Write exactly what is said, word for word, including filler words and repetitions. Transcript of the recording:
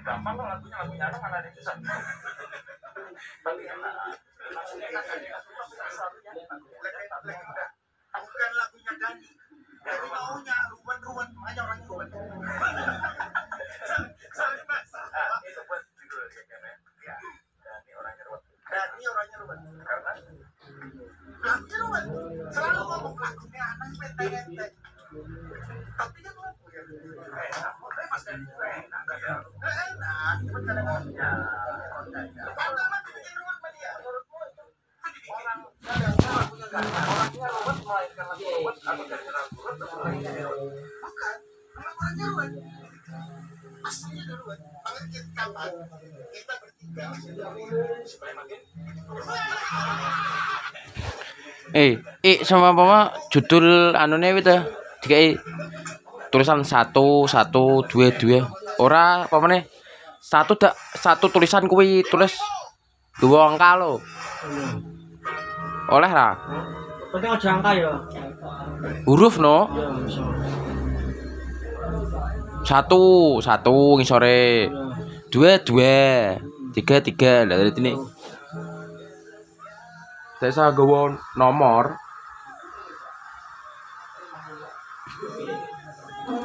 gampang kok lagunya lagunya anak mana ada yang susah. Tapi enak. Bukan lagunya Dani. Jadi maunya ruwen-ruwen, makanya orangnya ruwen. Sorry mas. Itu buat judul kayaknya. Ya. Dani orangnya ruwen. Dani orangnya ruwen. Karena lagunya ruwen. Selalu ngomong lagunya anak ente-ente. Tapi kan lagu ya. Enak. Makanya mas Dani itu enak. Enak. Cuma kadang-kadang ya. Karena emang dibikin ruwen sama dia. Menurutmu itu orang orangnya ruwet melainkan lagu ruwet atau dari lagu ruwet atau orangnya ruwet? Bukan, memang orangnya ruwet. Aslinya dia ruwet. Makanya kita kapan kita bertiga supaya makin. Eh, eh sama apa judul anune itu dikai tulisan satu satu dua dua ora apa meneh satu dak satu tulisan kuwi tulis dua angka lo. Oleh ra? Penting aja angka ya. Huruf no. Ya, bisa. Satu, satu ngisore. Dua, dua. Tiga, tiga. Lah dari sini. Saya gawa nomor